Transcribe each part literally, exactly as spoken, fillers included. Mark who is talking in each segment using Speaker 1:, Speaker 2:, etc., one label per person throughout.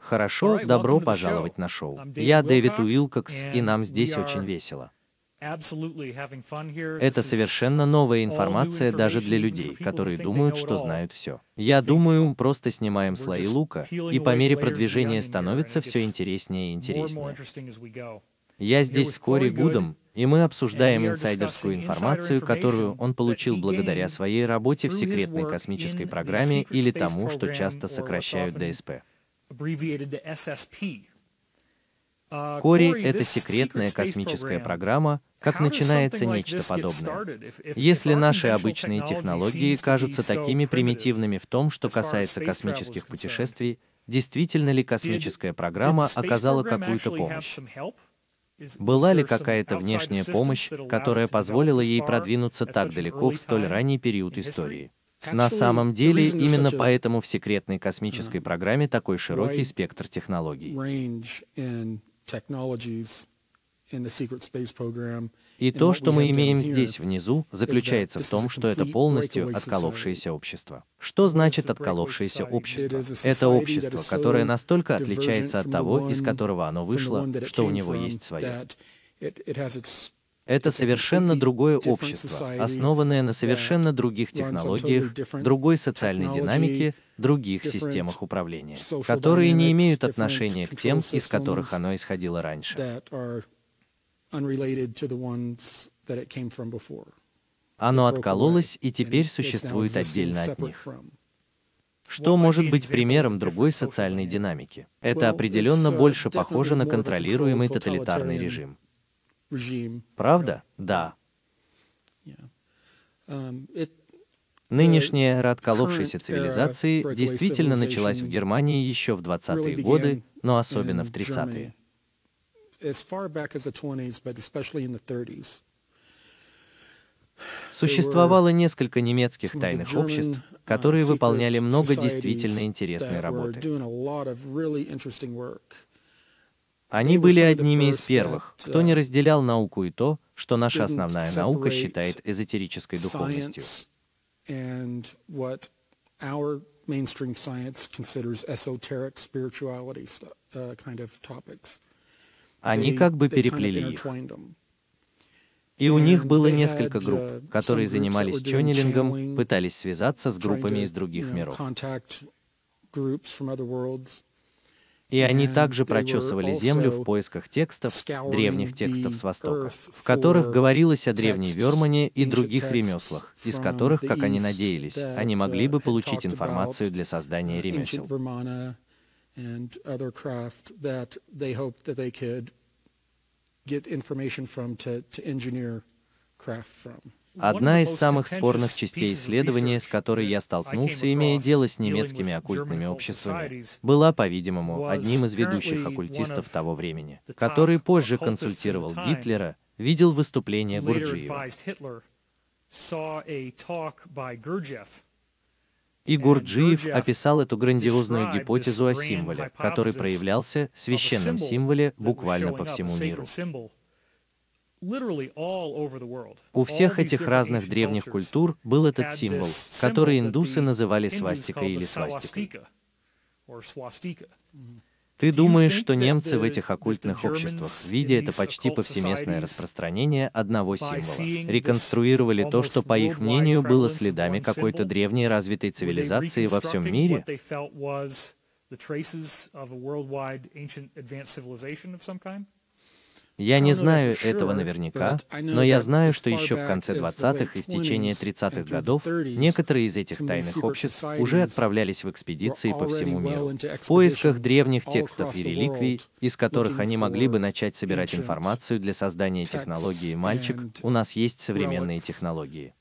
Speaker 1: Хорошо, добро пожаловать на шоу. Я Дэвид Уилкокс, и нам здесь очень весело. Это совершенно новая информация даже для людей, которые думают, что знают все. Я думаю, просто снимаем слои лука, и по мере продвижения становится все интереснее и интереснее. Я здесь с Кори Гудом, и мы обсуждаем инсайдерскую информацию, которую он получил благодаря своей работе в секретной космической программе или тому, что часто сокращают дэ эс пэ. Кори — это секретная космическая программа, как начинается нечто подобное. Если наши обычные технологии кажутся такими примитивными в том, что касается космических путешествий, действительно ли космическая программа оказала какую-то помощь? Была ли какая-то внешняя помощь, которая позволила ей продвинуться так далеко в столь ранний период истории? На самом деле, именно поэтому в секретной космической программе такой широкий спектр технологий. И то, что мы имеем здесь внизу, заключается в том, что это полностью отколовшееся общество. Что значит отколовшееся общество? Это общество, которое настолько отличается от того, из которого оно вышло, что у него есть свое. Это совершенно другое общество, основанное на совершенно других технологиях, другой социальной динамике, других системах управления, которые не имеют отношения к тем, из которых оно исходило раньше. Оно откололось и теперь существует отдельно от них. Что может быть примером другой социальной динамики? Это определенно больше похоже на контролируемый тоталитарный режим. Правда? Да. Нынешняя эра отколовшейся цивилизации действительно началась в Германии еще в двадцатые годы, но особенно в тридцатые. Существовало несколько немецких тайных обществ, которые выполняли много действительно интересной работы. Они были одними из первых, кто не разделял науку и то, что наша основная наука считает эзотерической духовностью. Они как бы переплели их. И у них было несколько групп, которые занимались чоннелингом, пытались связаться с группами из других миров. И они также прочесывали Землю в поисках текстов, древних текстов с Востока, в которых говорилось о древней Вермане и других ремеслах, из которых, как они надеялись, они могли бы получить информацию для создания ремесел. Одна из самых спорных частей исследования, с которой я столкнулся, имея дело с немецкими оккультными обществами, была, по-видимому, одним из ведущих оккультистов того времени, который позже консультировал Гитлера, видел выступление Гурджиева. И Гурджиев описал эту грандиозную гипотезу о символе, который проявлялся, священном символе, буквально по всему миру. У всех этих разных древних культур был этот символ, который индусы называли свастикой или свастикой. Ты думаешь, что немцы в этих оккультных обществах, видя это почти повсеместное распространение одного символа, реконструировали то, что, по их мнению, было следами какой-то древней развитой цивилизации во всем мире? Я не знаю этого наверняка, но я знаю, что еще в конце двадцатых и в течение тридцатых годов некоторые из этих тайных обществ уже отправлялись в экспедиции по всему миру в поисках древних текстов и реликвий, из которых они могли бы начать собирать информацию для создания технологии «Мальчик, у нас есть современные технологии».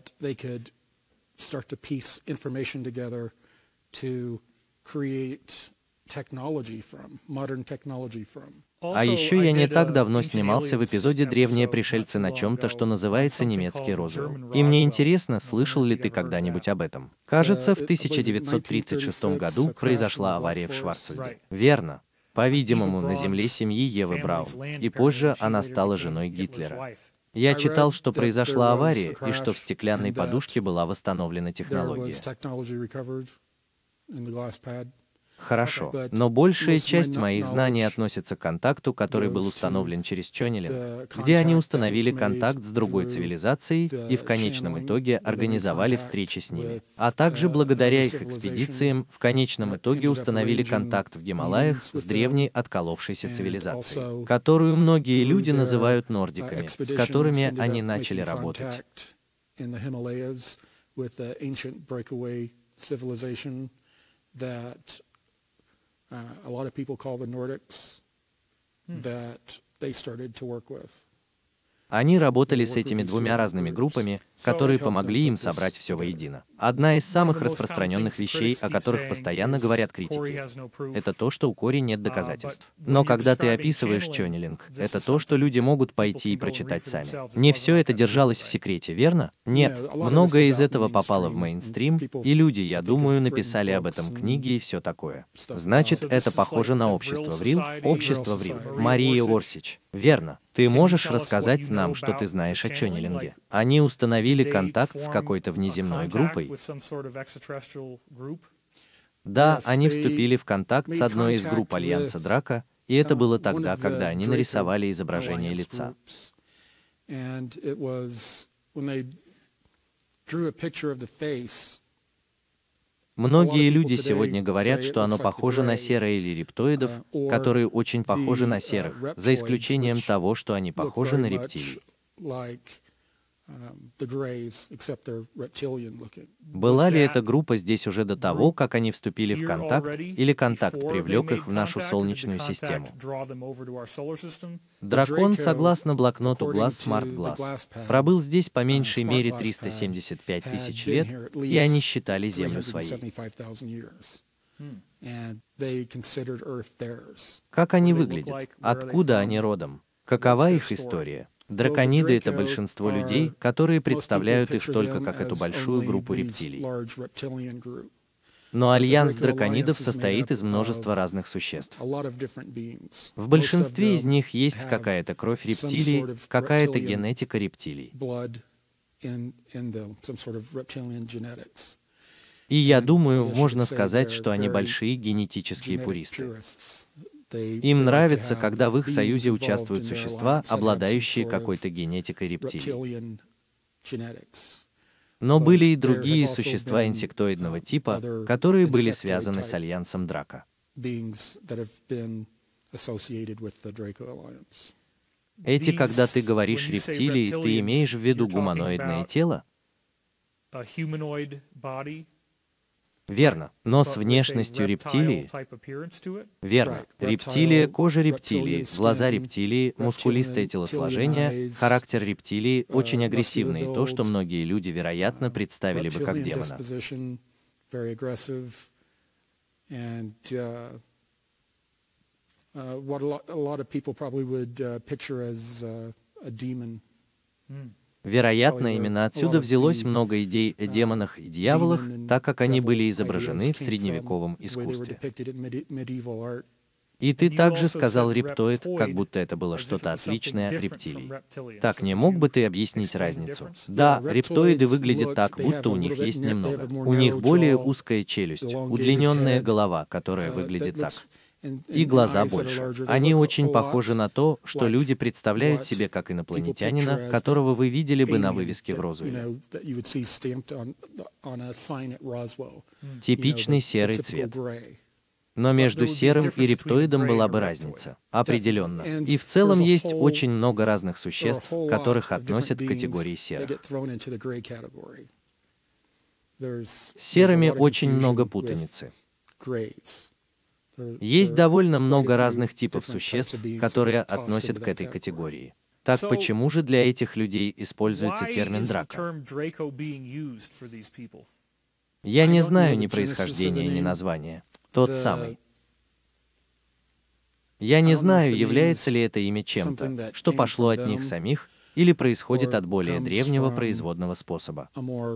Speaker 1: А еще я не так давно снимался в эпизоде «Древние пришельцы» на чем-то, что называется немецкий розуэлл. И мне интересно, слышал ли ты когда-нибудь об этом? Кажется, в тысяча девятьсот тридцать шестом году произошла авария в Шварцвальде. Верно. По-видимому, на земле семьи Евы Браун. И позже она стала женой Гитлера. Я читал, что произошла авария, и что в стеклянной подушке была восстановлена технология. Хорошо, но большая часть моих знаний относится к контакту, который был установлен через чоннелинг, где они установили контакт с другой цивилизацией и в конечном итоге организовали встречи с ними, а также благодаря их экспедициям в конечном итоге установили контакт в Гималаях с древней отколовшейся цивилизацией, которую многие люди называют нордиками, с которыми они начали работать.
Speaker 2: Uh, a lot of people call the Nordics that they started to work with.
Speaker 1: Они работали с этими двумя разными группами, которые помогли им собрать все воедино. Одна из самых распространенных вещей, о которых постоянно говорят критики, это то, что у Кори нет доказательств. Но когда ты описываешь чоннелинг, это то, что люди могут пойти и прочитать сами. Не все это держалось в секрете, верно? Нет. Многое из этого попало в мейнстрим, и люди, я думаю, написали об этом книги и все такое. Значит, это похоже на общество Врил? Общество Врил. Мария Орсич. Верно. Ты можешь рассказать нам, что ты знаешь о чоннелинге? Они установили контакт с какой-то внеземной группой? Да, они вступили в контакт с одной из групп Альянса Драко, и это было тогда, когда они нарисовали изображение лица. Многие люди сегодня говорят, что оно похоже на серое или рептоидов, которые очень похожи на серых, за исключением того, что они похожи на рептилий. Была ли эта группа здесь уже до того, как они вступили в контакт, или контакт привлек их в нашу Солнечную систему? Дракон, согласно блокноту Glass Smart Glass, пробыл здесь по меньшей мере триста семьдесят пять тысяч лет, и они считали Землю своей. Как они выглядят? Откуда они родом? Какова их история? Дракониды — это большинство людей, которые представляют их только как эту большую группу рептилий. Но альянс драконидов состоит из множества разных существ. В большинстве из них есть какая-то кровь рептилий, какая-то генетика рептилий. И я думаю, можно сказать, что они большие генетические пуристы. Им нравится, когда в их союзе участвуют существа, обладающие какой-то генетикой рептилий. Но были и другие существа инсектоидного типа, которые были связаны с Альянсом Драко. Эти, когда ты говоришь рептилии, ты имеешь в виду гуманоидное тело? Верно, но с внешностью рептилии. Верно. Рептилия, кожа рептилии, глаза рептилии, мускулистое телосложение, характер рептилии очень агрессивный, и то, что многие люди, вероятно, представили бы как демона. Вероятно, именно отсюда взялось много идей о демонах и дьяволах, так как они были изображены в средневековом искусстве. И ты также сказал рептоид, как будто это было что-то отличное от рептилий. Так, не мог бы ты объяснить разницу? Да, рептоиды выглядят так, будто у них есть немного. У них более узкая челюсть, удлиненная голова, которая выглядит так. И глаза больше. Они очень похожи на то, что люди представляют себе как инопланетянина, которого вы видели бы на вывеске в Розуэле. Типичный серый цвет. Но между серым и рептоидом была бы разница. Определенно. И в целом есть очень много разных существ, которых относят к категории серых. С серыми очень много путаницы. Есть довольно много разных типов существ, которые относят к этой категории. Так почему же для этих людей используется термин «драко»? Я не знаю ни происхождения, ни названия. Тот самый. Я не знаю, является ли это имя чем-то, что пошло от них самих, или происходит от более древнего производного способа.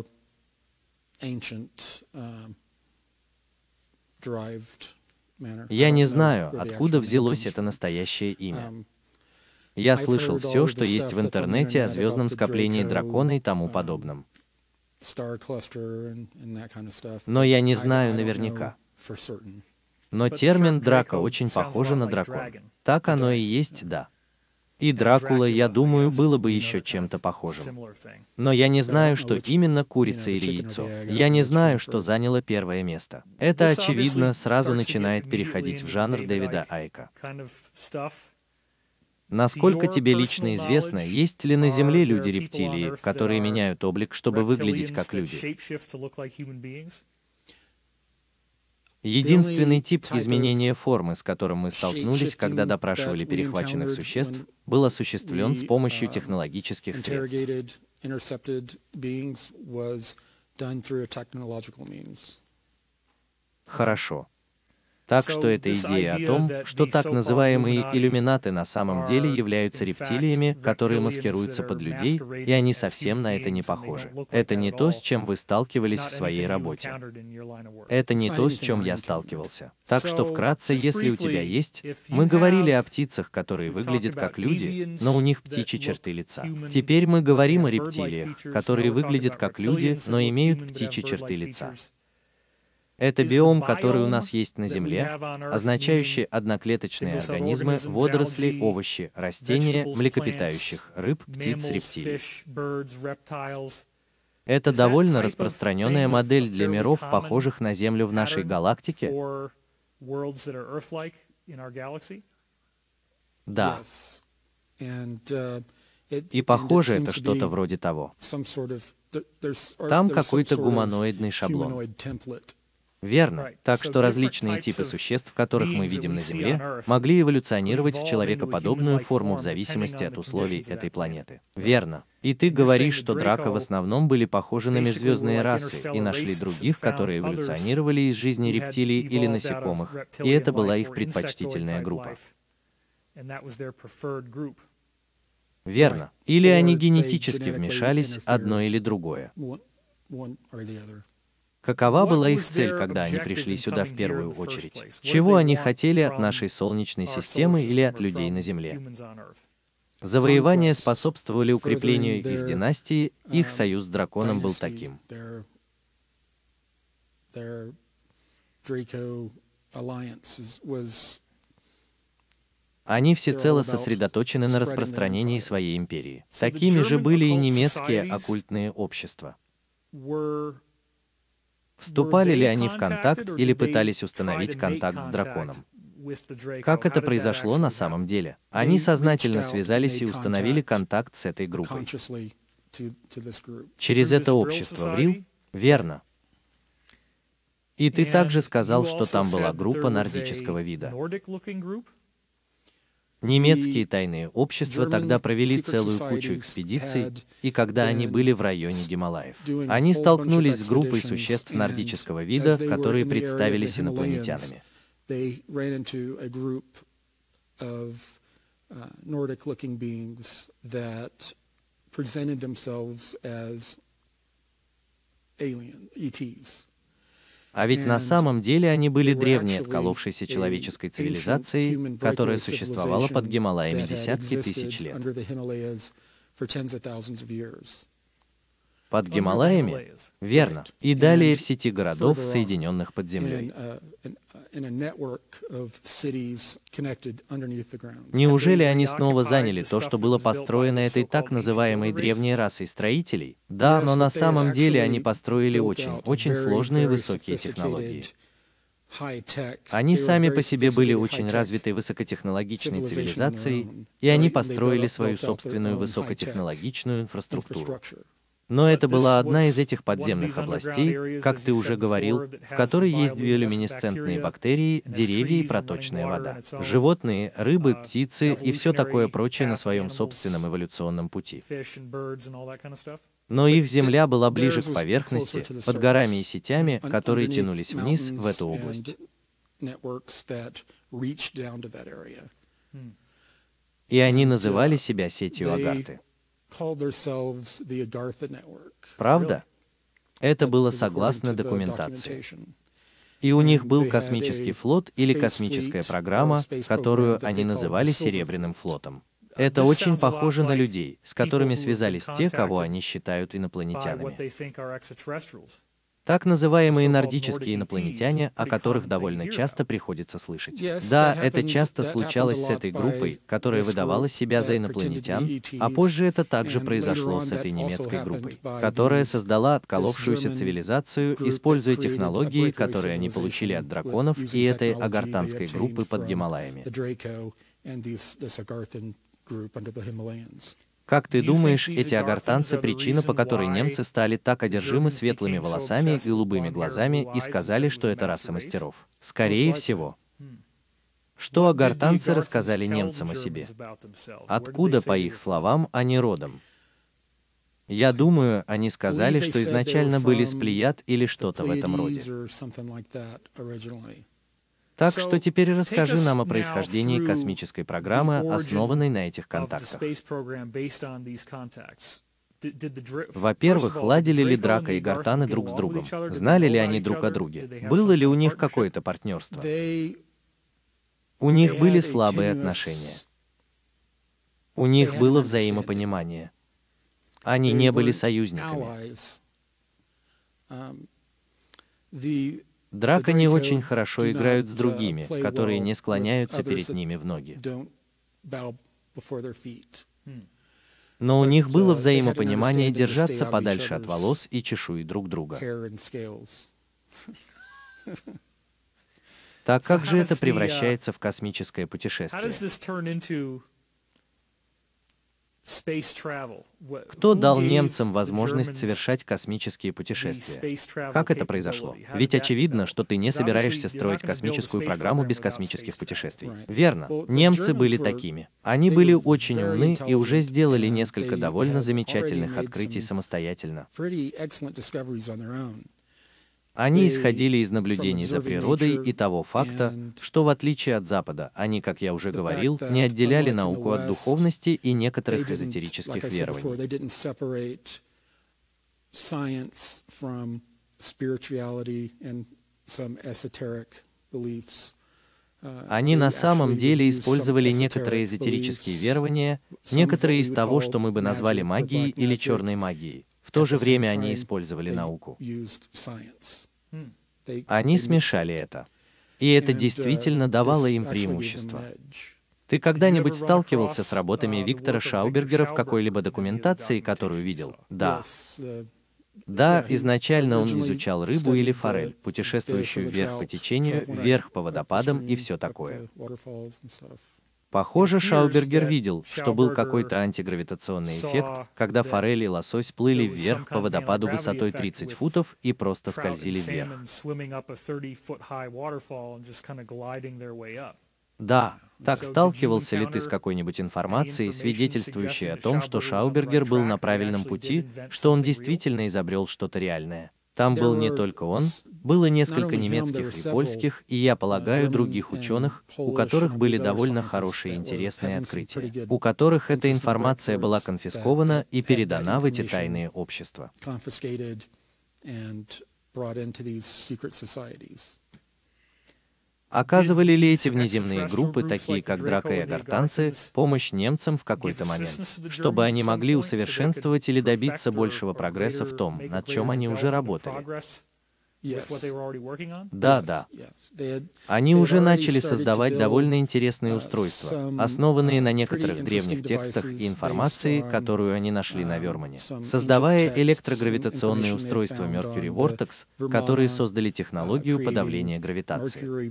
Speaker 1: Я не знаю, откуда взялось это настоящее имя. Я слышал все, что есть в интернете о звездном скоплении дракона и тому подобном. Но я не знаю наверняка. Но термин «драко» очень похоже на дракон. Так оно и есть, да. И Дракула, я думаю, было бы еще чем-то похожим. Но я не знаю, что именно курица или яйцо. Я не знаю, что заняло первое место. Это, очевидно, сразу начинает переходить в жанр Дэвида Айка. Насколько тебе лично известно, есть ли на Земле люди-рептилии, которые меняют облик, чтобы выглядеть как люди? Единственный тип изменения формы, с которым мы столкнулись, когда допрашивали перехваченных существ, был осуществлен с помощью технологических средств. Хорошо. Так что эта идея о том, что так называемые иллюминаты на самом деле являются рептилиями, которые маскируются под людей, и они совсем на это не похожи. Это не то, с чем вы сталкивались в своей работе. Это не то, с чем я сталкивался. Так что вкратце, если у тебя есть, мы говорили о птицах, которые выглядят как люди, но у них птичьи черты лица. Теперь мы говорим о рептилиях, которые выглядят как люди, но имеют птичьи черты лица. Это биом, который у нас есть на Земле, означающий одноклеточные организмы, водоросли, овощи, растения, млекопитающих, рыб, птиц, рептилий. Это довольно распространенная модель для миров, похожих на Землю в нашей галактике? Да. И похоже, это что-то вроде того. Там какой-то гуманоидный шаблон. Верно. Так что различные типы существ, которых мы видим на Земле, могли эволюционировать в человекоподобную форму в зависимости от условий этой планеты. Верно. И ты говоришь, что драко в основном были похожи на межзвездные расы и нашли других, которые эволюционировали из жизни рептилий или насекомых, и это была их предпочтительная группа. Верно. Или они генетически вмешались, одно или другое. Какова была их цель, когда они пришли сюда в первую очередь? Чего они хотели от нашей Солнечной системы или от людей на Земле? Завоевания способствовали укреплению их династии, их союз с драконом был таким. Они всецело сосредоточены на распространении своей империи. Такими же были и немецкие оккультные общества. Вступали ли они в контакт или пытались установить контакт с драконом? Как это произошло на самом деле? Они сознательно связались и установили контакт с этой группой. Через это общество в Рил? Верно. И ты также сказал, что там была группа нордического вида. Немецкие тайные общества тогда провели целую кучу экспедиций, и когда они были в районе Гималаев, они столкнулись с группой существ нордического вида, которые представились инопланетянами. А ведь на самом деле они были древней отколовшейся человеческой цивилизацией, которая существовала под Гималаями десятки тысяч лет. Под Гималаями? Верно. И далее в сети городов, соединенных под землей. Неужели они снова заняли то, что было построено этой так называемой древней расой строителей? Да, но на самом деле они построили очень, очень сложные высокие технологии. Они сами по себе были очень развитой высокотехнологичной цивилизацией, и они построили свою собственную высокотехнологичную инфраструктуру. Но это была одна из этих подземных областей, как ты уже говорил, в которой есть биолюминесцентные бактерии, деревья и проточная вода, животные, рыбы, птицы и все такое прочее на своем собственном эволюционном пути. Но их земля была ближе к поверхности, под горами и сетями, которые тянулись вниз в эту область. И они называли себя сетью Агарты. Правда? Это было согласно документации. И у них был космический флот или космическая программа, которую они называли Серебряным флотом. Это очень похоже на людей, с которыми связались те, кого они считают инопланетянами. Так называемые нордические инопланетяне, о которых довольно часто приходится слышать. Да, это часто случалось с этой группой, которая выдавала себя за инопланетян, а позже это также произошло с этой немецкой группой, которая создала отколовшуюся цивилизацию, используя технологии, которые они получили от драконов и этой агартанской группы под Гималаями. Как ты думаешь, эти агартанцы — причина, по которой немцы стали так одержимы светлыми волосами и голубыми глазами и сказали, что это раса мастеров? Скорее всего. Что агартанцы рассказали немцам о себе? Откуда, по их словам, они родом? Я думаю, они сказали, что изначально были с Плеяд или что-то в этом роде. Так что теперь расскажи нам о происхождении космической программы, основанной на этих контактах. Во-первых, ладили ли Драко и Гартаны друг с другом? Знали ли они друг о друге? Было ли у них какое-то партнерство? У них были слабые отношения. У них было взаимопонимание. Они не были союзниками. Драко не очень хорошо играют с другими, которые не склоняются перед ними в ноги. Но у них было взаимопонимание держаться подальше от волос и чешуи друг друга. Так как же это превращается в космическое путешествие? Кто дал немцам возможность совершать космические путешествия? Как это произошло? Ведь очевидно, что ты не собираешься строить космическую программу без космических путешествий. Верно. Немцы были такими. Они были очень умны и уже сделали несколько довольно замечательных открытий самостоятельно. Они исходили из наблюдений за природой и того факта, что в отличие от Запада, они, как я уже говорил, не отделяли науку от духовности и некоторых эзотерических верований. Они на самом деле использовали некоторые эзотерические верования, некоторые из того, что мы бы назвали магией или черной магией. В то же время они использовали науку. Они смешали это. И это действительно давало им преимущество. Ты когда-нибудь сталкивался с работами Виктора Шаубергера в какой-либо документации, которую видел? Да. Да, изначально он изучал рыбу или форель, путешествующую вверх по течению, вверх по водопадам и все такое. Похоже, Шаубергер видел, что был какой-то антигравитационный эффект, когда форель и лосось плыли вверх по водопаду высотой тридцать футов и просто скользили вверх. Да, так сталкивался ли ты с какой-нибудь информацией, свидетельствующей о том, что Шаубергер был на правильном пути, что он действительно изобрел что-то реальное? Там был не только он, было несколько немецких и польских, и, я полагаю, других ученых, у которых были довольно хорошие и интересные открытия, у которых эта информация была конфискована и передана в эти тайные общества. Оказывали ли эти внеземные группы, такие как Драко и агартанцы, помощь немцам в какой-то момент, чтобы они могли усовершенствовать или добиться большего прогресса в том, над чем они уже работали? Да, да. Они уже начали создавать довольно интересные устройства, основанные на некоторых древних текстах и информации, которую они нашли на Вермане, создавая электрогравитационные устройства Mercury Vortex, которые создали технологию подавления гравитации.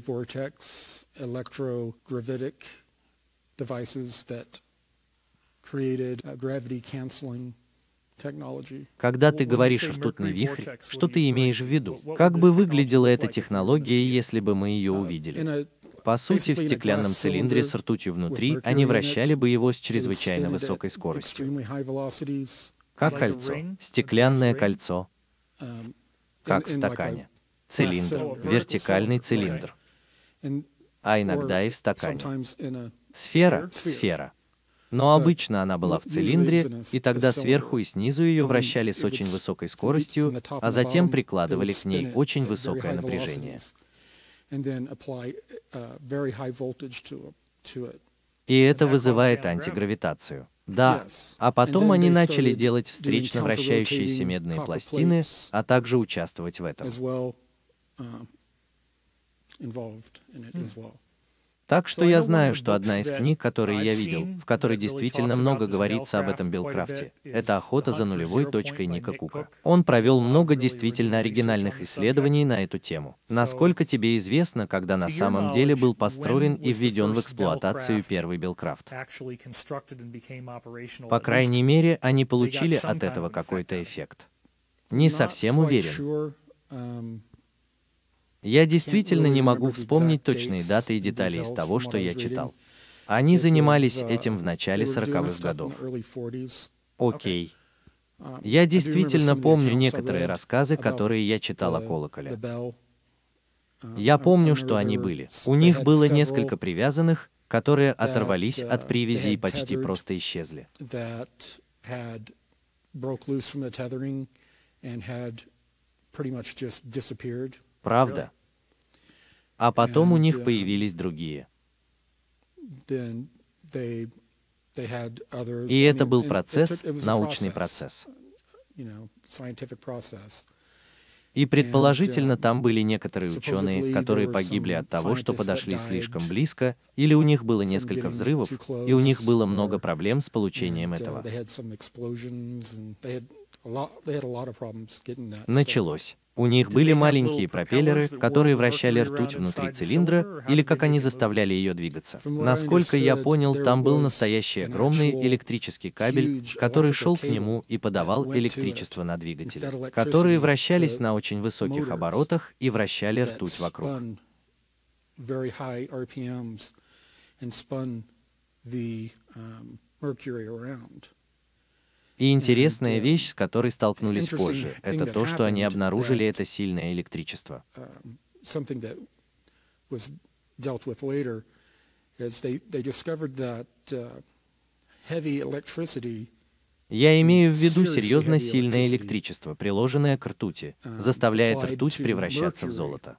Speaker 1: Когда ты говоришь «ртутный вихрь», что ты имеешь в виду? Как бы выглядела эта технология, если бы мы ее увидели? По сути, в стеклянном цилиндре с ртутью внутри они вращали бы его с чрезвычайно высокой скоростью. Как кольцо. Стеклянное кольцо. Как в стакане. Цилиндр. Вертикальный цилиндр. А иногда и в стакане. Сфера. Сфера. Но обычно она была в цилиндре, и тогда сверху и снизу ее вращали с очень высокой скоростью, а затем прикладывали к ней очень высокое напряжение. И это вызывает антигравитацию. Да, а потом они начали делать встречно вращающиеся медные пластины, а также участвовать в этом. Так что я знаю, что одна из книг, которые я видел, в которой действительно много говорится об этом Биллкрафте, это «Охота за нулевой точкой» Ника Кука. Он провел много действительно оригинальных исследований на эту тему. Насколько тебе известно, когда на самом деле был построен и введен в эксплуатацию первый Биллкрафт? По крайней мере, они получили от этого какой-то эффект. Не совсем уверен. Я действительно не могу вспомнить точные даты и детали из того, что я читал. Они занимались этим в начале сороковых годов. Окей. Я действительно помню некоторые рассказы, которые я читал о колоколе. Я помню, что они были. У них было несколько привязанных, которые оторвались от привязи и почти просто исчезли. Правда? А потом у них появились другие. И это был процесс, научный процесс. И предположительно там были некоторые ученые, которые погибли от того, что подошли слишком близко, или у них было несколько взрывов, и у них было много проблем с получением этого. Началось. У них были маленькие пропеллеры, которые вращали ртуть внутри цилиндра, или как они заставляли ее двигаться. Насколько я понял, там был настоящий огромный электрический кабель, который шел к нему и подавал электричество на двигатели, которые вращались на очень высоких оборотах и вращали ртуть вокруг. И интересная вещь, с которой столкнулись позже, это то, что они обнаружили это сильное электричество. Я имею в виду серьезно сильное электричество, приложенное к ртути, заставляет ртуть превращаться в золото.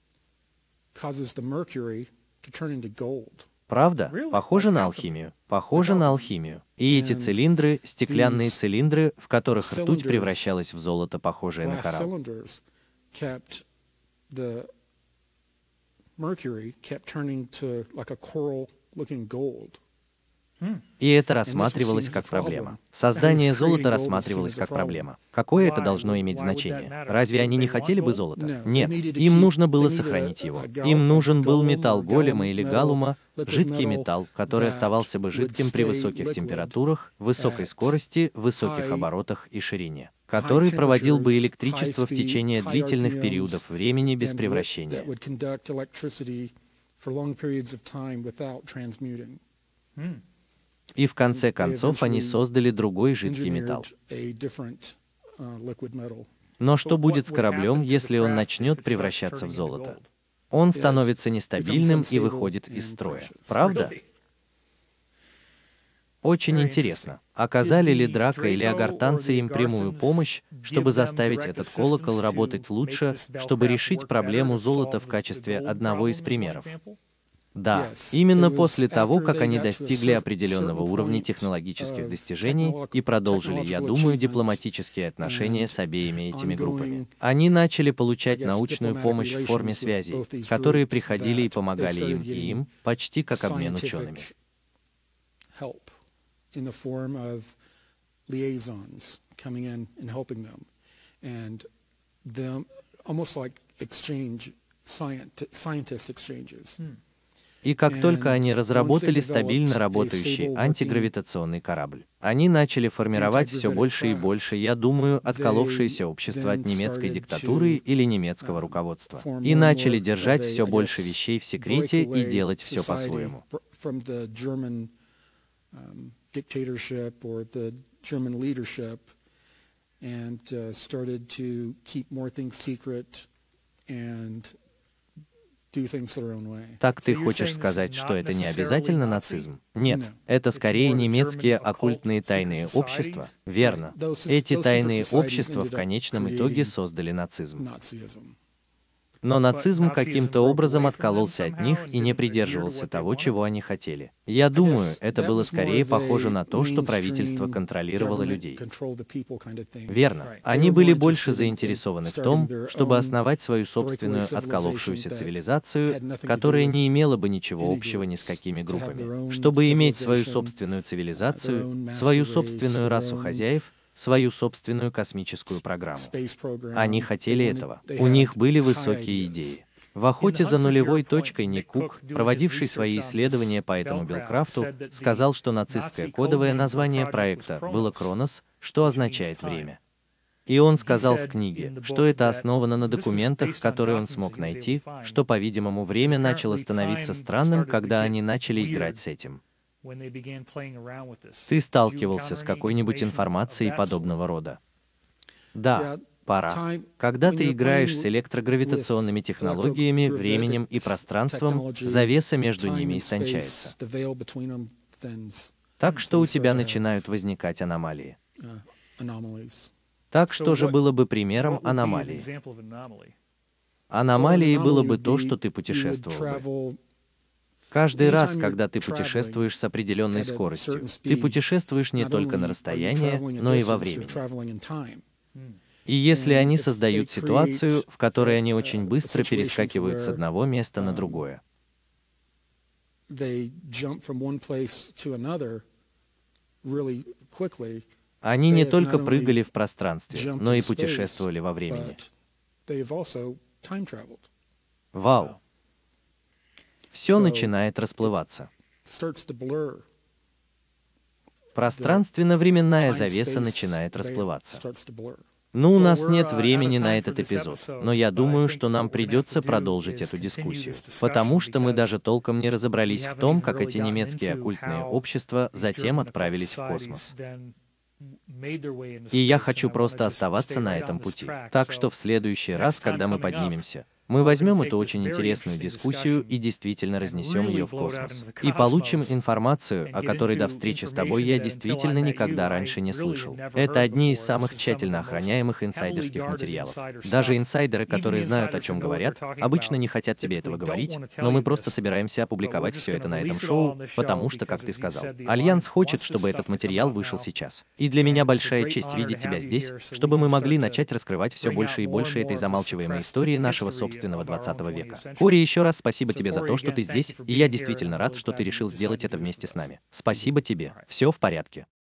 Speaker 1: Правда? Похоже на алхимию. Похоже на алхимию. И эти цилиндры, стеклянные цилиндры, в которых ртуть превращалась в золото, похожее на коралл. И это рассматривалось как проблема. Создание золота рассматривалось как проблема. Какое это должно иметь значение? Разве они не хотели бы золота? Нет, им нужно было сохранить его. Им нужен был металл голема или галлума, жидкий металл, который оставался бы жидким при высоких температурах, высокой скорости, высоких оборотах и ширине, который проводил бы электричество в течение длительных периодов времени без превращения. И в конце концов они создали другой жидкий металл. Но что будет с кораблем, если он начнет превращаться в золото? Он становится нестабильным и выходит из строя. Правда? Очень интересно, оказали ли Драко или агартанцы им прямую помощь, чтобы заставить этот колокол работать лучше, чтобы решить проблему золота в качестве одного из примеров? Да, именно после того, как они достигли определенного уровня технологических достижений и продолжили, я думаю, дипломатические отношения с обеими этими группами. Они начали получать научную помощь в форме связей, которые приходили и помогали им и им, почти как обмен учеными. И как только они разработали стабильно работающий антигравитационный корабль, они начали формировать все больше и больше, я думаю, отколовшееся общество от немецкой диктатуры или немецкого руководства, и начали держать все больше вещей в секрете и делать все по-своему. Так ты хочешь сказать, что это не обязательно нацизм? Нет, это скорее немецкие оккультные тайные общества, верно. Эти тайные общества в конечном итоге создали нацизм. Но нацизм каким-то образом откололся от них и не придерживался того, чего они хотели. Я думаю, это было скорее похоже на то, что правительство контролировало людей. Верно. Они были больше заинтересованы в том, чтобы основать свою собственную отколовшуюся цивилизацию, которая не имела бы ничего общего ни с какими группами. Чтобы иметь свою собственную цивилизацию, свою собственную расу хозяев, свою собственную космическую программу. Они хотели этого. У них были высокие идеи. В «Охоте за нулевой точкой» Ник Кук, проводивший свои исследования по этому Белкрафту, сказал, что нацистское кодовое название проекта было «Кронос», что означает «время». И он сказал в книге, что это основано на документах, которые он смог найти, что, по-видимому, время начало становиться странным, когда они начали играть с этим. Ты сталкивался с какой-нибудь информацией подобного рода? Да, пора. Когда ты играешь с электрогравитационными технологиями, временем и пространством, завеса между ними истончается. Так что у тебя начинают возникать аномалии. Так что же было бы примером аномалии? Аномалией было бы то, что ты путешествовал бы. Каждый раз, когда ты путешествуешь с определенной скоростью, ты путешествуешь не только на расстояние, но и во времени. И если они создают ситуацию, в которой они очень быстро перескакивают с одного места на другое, они не только прыгали в пространстве, но и путешествовали во времени. Вау! Все начинает расплываться. Пространственно-временная завеса начинает расплываться. Ну, у нас нет времени на этот эпизод, но я думаю, что нам придется продолжить эту дискуссию, потому что мы даже толком не разобрались в том, как эти немецкие оккультные общества затем отправились в космос. И я хочу просто оставаться на этом пути. Так что в следующий раз, когда мы поднимемся, мы возьмем эту очень интересную дискуссию и действительно разнесем ее в космос. И получим информацию, о которой до встречи с тобой я действительно никогда раньше не слышал. Это одни из самых тщательно охраняемых инсайдерских материалов. Даже инсайдеры, которые знают, о чем говорят, обычно не хотят тебе этого говорить, но мы просто собираемся опубликовать все это на этом шоу, потому что, как ты сказал, Альянс хочет, чтобы этот материал вышел сейчас. И для меня большая честь видеть тебя здесь, чтобы мы могли начать раскрывать все больше и больше этой замалчиваемой истории нашего собственного двадцатого века. Кори, еще раз спасибо тебе за то, что ты здесь, и я действительно рад, что ты решил сделать это вместе с нами. Спасибо тебе. Все в порядке.